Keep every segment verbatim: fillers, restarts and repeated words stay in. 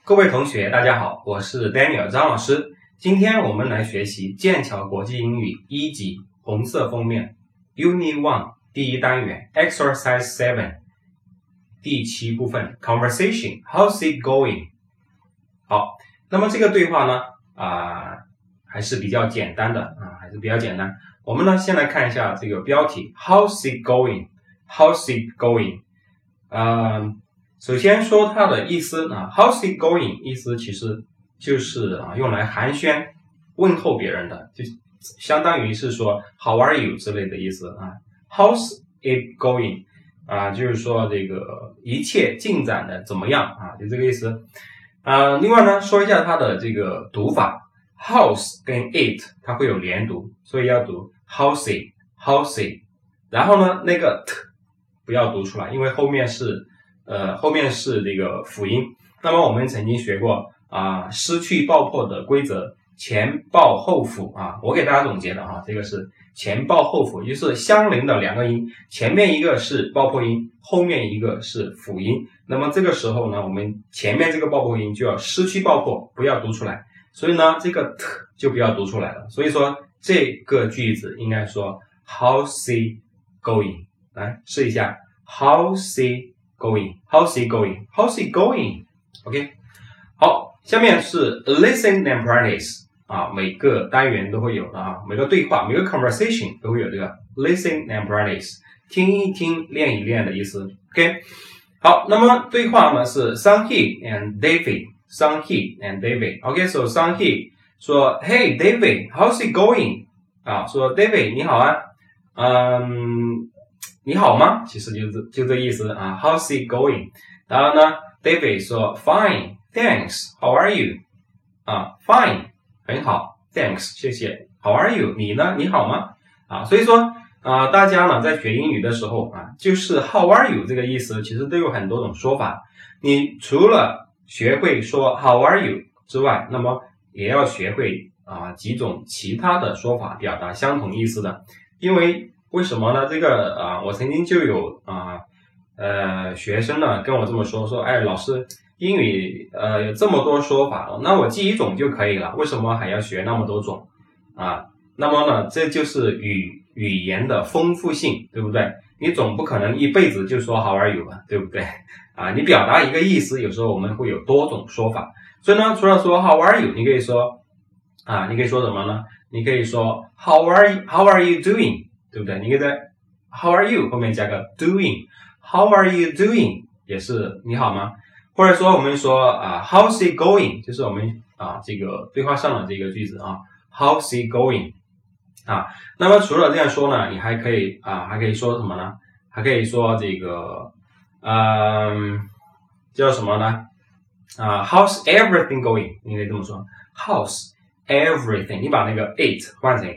各位同学，大家好，我是 Daniel 张老师。今天我们来学习剑桥国际英语一级红色封面 Unit One 第一单元 Exercise Seven 第七部分 Conversation How's it going？ 好，那么这个对话呢，啊、呃，还是比较简单的啊，还是比较简单。我们呢，先来看一下这个标题 How's it going？How's it going？ 呃。首先说它的意思啊 ，How's it going？ 意思其实就是啊用来寒暄问候别人的，就相当于是说 How are you 之类的意思啊。How's it going？ 啊，就是说这个一切进展的怎么样啊，就这个意思。啊，另外呢，说一下它的这个读法 ，How's 跟 it 它会有连读，所以要读 How's it，How's it。然后呢，那个 t 不要读出来，因为后面是。呃，后面是这个辅音。那么我们曾经学过啊、呃，失去爆破的规则，前爆后辅啊。我给大家总结的啊，这个是前爆后辅，也就是相邻的两个音，前面一个是爆破音，后面一个是辅音。那么这个时候呢，我们前面这个爆破音就要失去爆破，不要读出来。所以呢，这个 t 就不要读出来了。所以说这个句子应该说 How's it going？ 来试一下 How's it going? How's it going? How's it going? OK， 好，下面是 listen and practice 啊，每个单元都会有的啊，每个对话，每个 conversation 都会有这个 listen and practice， 听一听，练一练的意思。OK， 好，那么对话呢是 Sung-hee and David，Sung-hee and David。OK，so Sung-hee 说 Hey David, how's it going? 啊，说 David 你好啊，嗯。你好吗？其实就是就这意思啊 ，How's it going？ 然后呢 ，David 说 Fine, thanks. How are you？ 啊 ，Fine， 很好 ，Thanks， 谢谢。How are you？ 你呢？你好吗？啊，所以说啊、呃，大家呢在学英语的时候啊，就是 How are you 这个意思，其实都有很多种说法。你除了学会说 How are you 之外，那么也要学会啊、呃、几种其他的说法表达相同意思的，因为。为什么呢？这个啊、呃，我曾经就有啊 呃, 呃学生呢跟我这么说，说，哎，老师，英语呃有这么多说法，那我记一种就可以了，为什么还要学那么多种啊？那么呢，这就是语语言的丰富性，对不对？你总不可能一辈子就说 How are you 吧，对不对？啊，你表达一个意思，有时候我们会有多种说法，所以呢，除了说 How are you， 你可以说啊，你可以说什么呢？你可以说 How are you, How are you doing？对不对？你可以在 How are you 后面加个 doing， How are you doing 也是你好吗？或者说我们说啊 How's it going 就是我们啊这个对话上的这个句子啊 How's it going 啊。那么除了这样说呢，你还可以啊还可以说什么呢？还可以说这个嗯叫什么呢？啊 How's everything going 你可以这么说 How's everything 你把那个 it 换成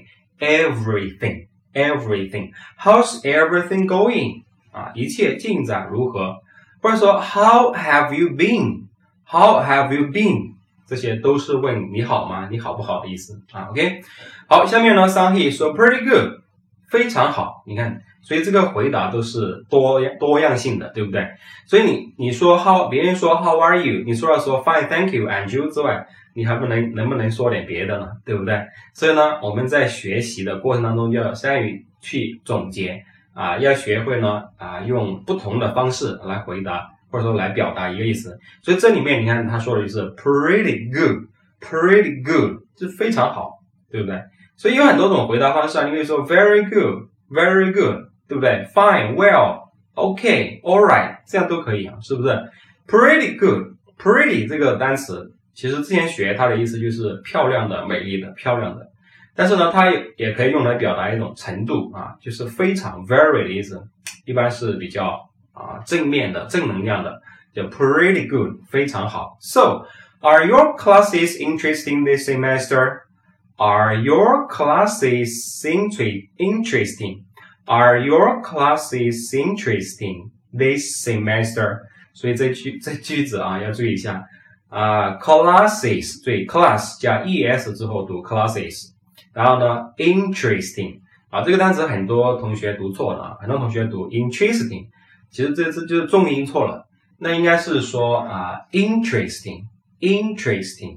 everything。Everything. How's everything going? 啊，一切进展如何？或者说 How have you been? How have you been? 这些都是问你好吗？你好不好的意思啊 ？OK， 好，下面呢 Sung-hee 说 Pretty good， 非常好。你看，所以这个回答都是多多样性的，对不对？所以你你说 How， 别人说 How are you？ 你除了说 Fine, thank you, and you 之外，你还不能能不能说点别的呢？对不对？所以呢，我们在学习的过程当中要善于去总结啊，要学会呢啊用不同的方式来回答或者说来表达一个意思。所以这里面你看他说的就是 pretty good, pretty good 就非常好，对不对？所以有很多种回答方式啊，你可以说 very good, very good， 对不对 ？Fine, well, okay, all right， 这样都可以啊，是不是 ？Pretty good, pretty 这个单词。其实之前学它的意思就是漂亮的、美丽的、漂亮的，但是呢，它也可以用来表达一种程度啊，就是非常 very 的意思，一般是比较啊正面的、正能量的，叫 pretty good， 非常好。So, are your classes interesting this semester? Are your classes interesting? Are your classes interesting this semester? 所以这句这句子啊要注意一下。啊、uh, ，classes 对 class 加 es 之后读 classes， 然后呢 interesting 啊，这个单词很多同学读错了啊，很多同学读 interesting， 其实这次就是重音错了，那应该是说啊、uh, interesting interesting.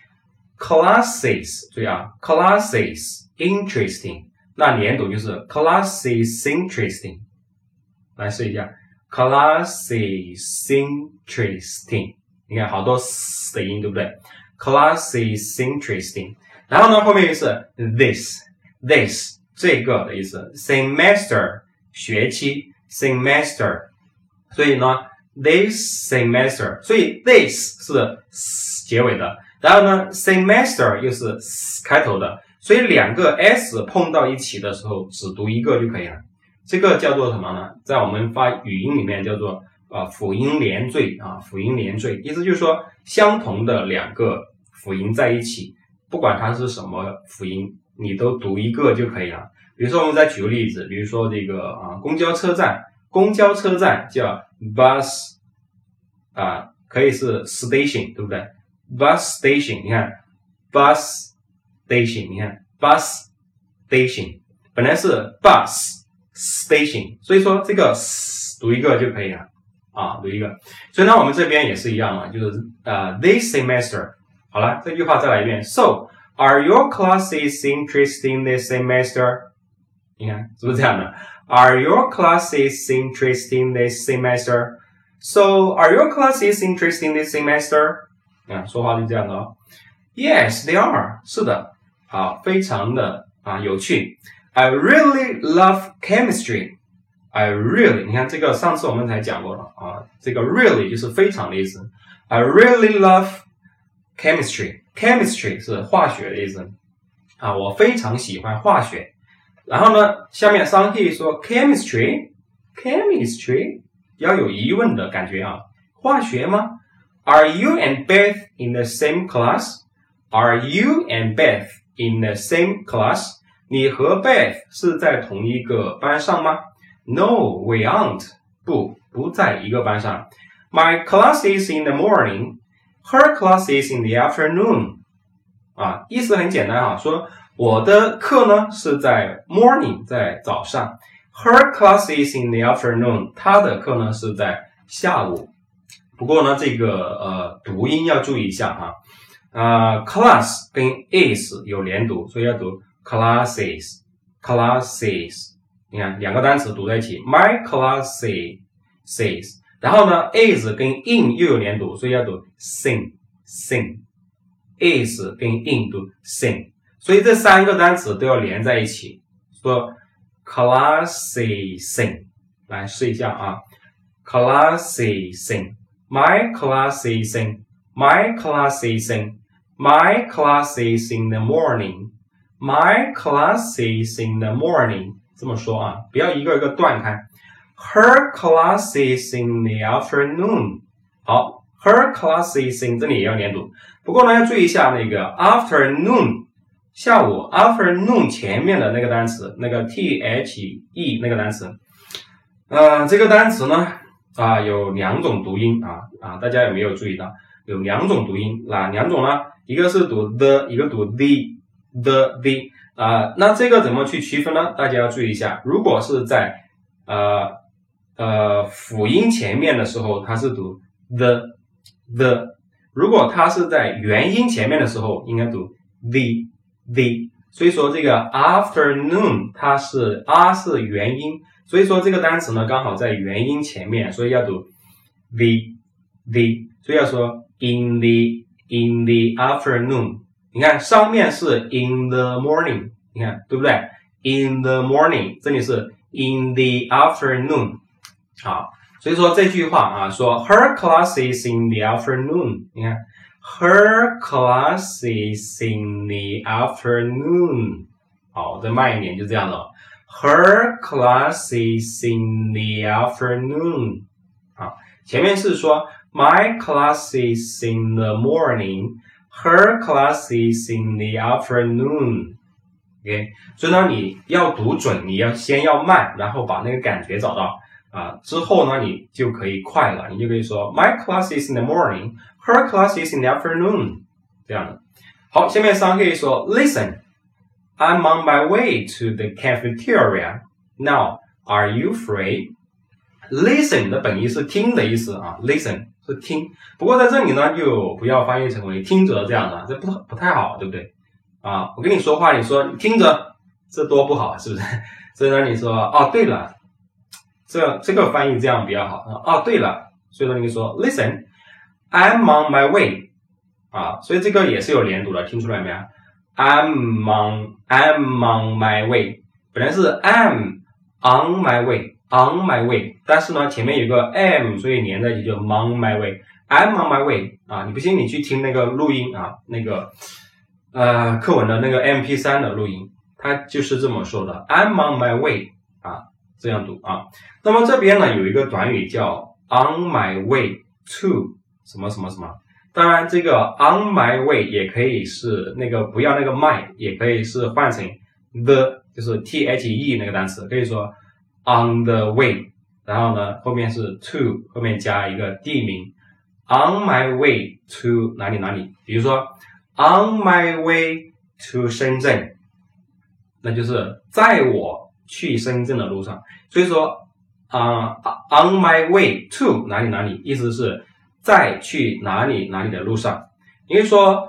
Classes 注意啊 ，classes interesting， 那连读就是 classes interesting。来试一下 ，classes interesting， 你看好多 s 的音，对不对 ？classes interesting， 然后呢后面就是 this this 这个的意思 ，semester 学期 semester， 所以呢 this semester， 所以 this 是 s 结尾的。然后呢 semester 又是 s 开头的，所以两个 s 碰到一起的时候只读一个就可以了。这个叫做什么呢？在我们发语音里面叫做呃辅音连缀啊，辅音连缀，意思就是说相同的两个辅音在一起，不管它是什么辅音，你都读一个就可以了。比如说我们再举个例子，比如说这个啊公交车站，公交车站叫 bus 啊，可以是 station， 对不对？Bus station， 你看 bus station， 你看 bus station 本来是 bus station， 所以说这个 s 读一个就可以了啊，读一个。所以呢，我们这边也是一样嘛，就是呃 this semester。好了，这句话再来一遍。So are your classes interesting this semester？ 你看是不是这样的 ？Are your classes interesting this semester？ So are your classes interesting this semester？啊，说话就这样的哦。Yes, they are. 是的，好，非常的啊有趣。I really love chemistry. I really， 你看这个上次我们才讲过了啊，这个 really 就是非常的意思。I really love chemistry. Chemistry 是化学的意思啊，我非常喜欢化学。然后呢，下面商议说 chemistry, chemistry 要有疑问的感觉啊，化学吗？Are you and Beth in the same class? Are you and Beth in the same class? 你和 Beth 是在同一个班上吗 ？No, we aren't. 不，不在一个班上。My class is in the morning. Her class is in the afternoon. 啊，意思很简单啊，说我的课呢是在 morning， 在早上。Her class is in the afternoon. 她的课呢是在下午。不过呢，这个呃读音要注意一下哈，啊、呃、，class 跟 is 有连读，所以要读 classes classes。你看两个单词读在一起 ，my classes， 然后呢 is 跟 in 又有连读，所以要读 sing sing，is 跟 in 读 sing， 所以这三个单词都要连在一起，说 classes， 来试一下啊 ，classes。My class is in, my class is in, my class is in the morning, my class is in the morning. 这么说啊，不要一个一个断开。Her class is in the afternoon. 好 ，her class is in 这里也要连读。不过呢，要注意一下那个 afternoon 下午 afternoon 前面的那个单词，那个 the 那个单词，呃，这个单词呢。啊，有两种读音啊啊，大家有没有注意到？有两种读音，哪两种呢？一个是读 the， 一个读 the the the 啊，那这个怎么去区分呢？大家要注意一下，如果是在呃呃辅音前面的时候，它是读 the the， 如果它是在元音前面的时候，应该读 the the。所以说这个 afternoon 它是 r 是元音。所以说这个单词呢刚好在元音前面，所以要读 the the， 所以要说 in the in the afternoon。你看上面是 in the morning， 你看对不对 ？in the morning， 这里是 in the afternoon。好，所以说这句话啊，说 her class is in the afternoon， 你看 her class is in the afternoon。好，再慢一点，就这样了。Her class is in the afternoon。好，前面是说 My class is in the morning. Her class is in the afternoon. OK， 所以呢，你要读准，你要先要慢，然后把那个感觉找到啊，之后呢，你就可以快了，你就可以说 My class is in the morning. Her class is in the afternoon。这样的。好，下面三可以说 Listen。I'm on my way to the cafeteria. Now, are you free? Listen 的本意是听的意思啊 ，listen 是听。不过在这里呢，就不要翻译成为听着这样的，这不不太好，对不对？啊，我跟你说话，你说你听着，这多不好，是不是？所以呢，你说哦，对了，这这个翻译这样比较好。哦，对了，所以呢，你说 Listen, I'm on my way。啊，所以这个也是有连读的，听出来没有 ？I'm on, I'm on my way， 本来是 I'm on my way, on my way， 但是呢前面有个 am， 所以连在一起就 on my way。I'm on my way 啊，你不信你去听那个录音啊，那个呃课文的那个 M P 三 的录音，它就是这么说的 ，I'm on my way 啊，这样读啊。那么这边呢有一个短语叫 on my way to 什么什么什么。当然，这个 on my way 也可以是那个不要那个 my， 也可以是换成 the， 就是 T H E 那个单词，可以说 on the way， 然后呢后面是 to， 后面加一个地名 on my way to 哪里哪里，比如说 on my way to 深圳，那就是在我去深圳的路上。所以说啊、uh, on my way to 哪里哪里，意思是在去哪里哪里的路上。你可以说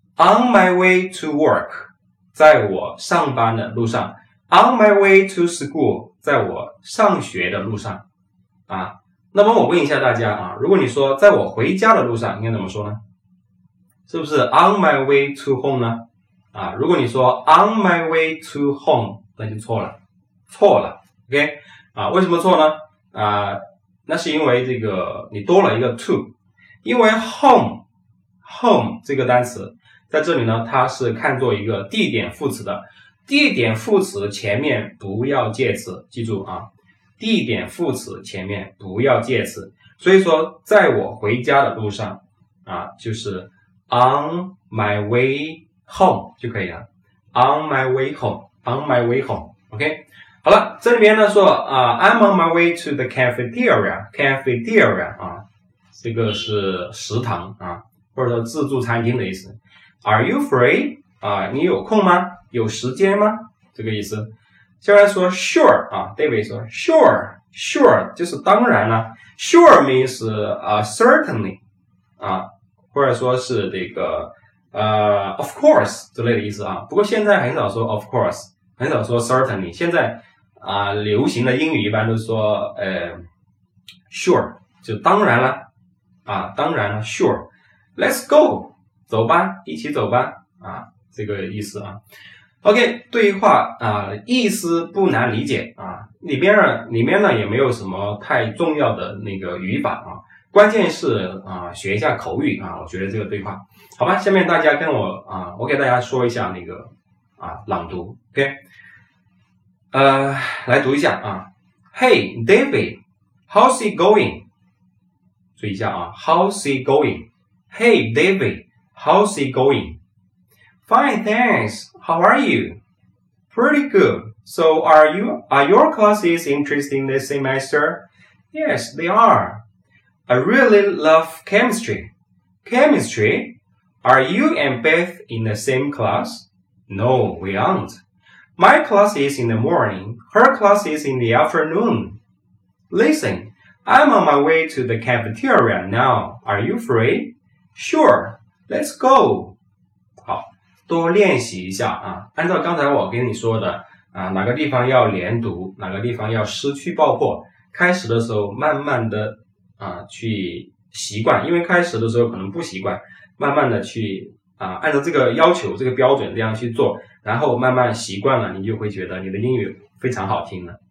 on my way to work， 在我上班的路上。 on my way to school， 在我上学的路上啊。那么我问一下大家啊，如果你说在我回家的路上，应该怎么说呢？是不是 on my way to home 呢？啊，如果你说 on my way to home， 那就错了，错了 OK 啊，为什么错呢？啊，那是因为这个你多了一个 to，因为 home home 这个单词在这里呢，它是看作一个地点副词的。地点副词前面不要介词，记住啊，地点副词前面不要介词。所以说在我回家的路上啊，就是 on my way home 就可以了。 on my way home on my way home OK。 好了，这里边呢说啊 I'm on my way to the cafeteria cafeteria 啊，这个是食堂啊，或者说自助餐厅的意思。 Are you free？ 啊，你有空吗？有时间吗？这个意思。下来说 sure 啊 David 说 sure sure 就是当然了。 sure means uh, certainly 啊，或者说是这个呃 of course 之类的意思啊。不过现在很少说 of course， 很少说 certainly。 现在啊流行的英语一般都说呃 sure 就当然了啊，当然了 sure。 Let's go 走吧，一起走吧啊，这个意思啊。OK， 对话啊，意思不难理解啊，里边呢里面呢也没有什么太重要的那个语法啊，关键是啊学一下口语啊，我觉得这个对话好吧。下面大家跟我啊，我给大家说一下那个啊朗读 OK， 呃来读一下啊。 Hey David, how's it going？ 注意一下啊 how's it going？ Hey David, how's it going？Fine, thanks. How are you? Pretty good. So are you, are your classes interesting this semester? Yes, they are. I really love chemistry. Chemistry? Are you and Beth in the same class? No, we aren't. My class is in the morning. Her class is in the afternoon. Listen, I'm on my way to the cafeteria now. Are you free? Sure. Let's go. 好。多练习一下啊，按照刚才我跟你说的啊，哪个地方要连读，哪个地方要失去爆破，开始的时候慢慢的啊去习惯，因为开始的时候可能不习惯，慢慢的去啊按照这个要求这个标准这样去做，然后慢慢习惯了，你就会觉得你的英语非常好听了。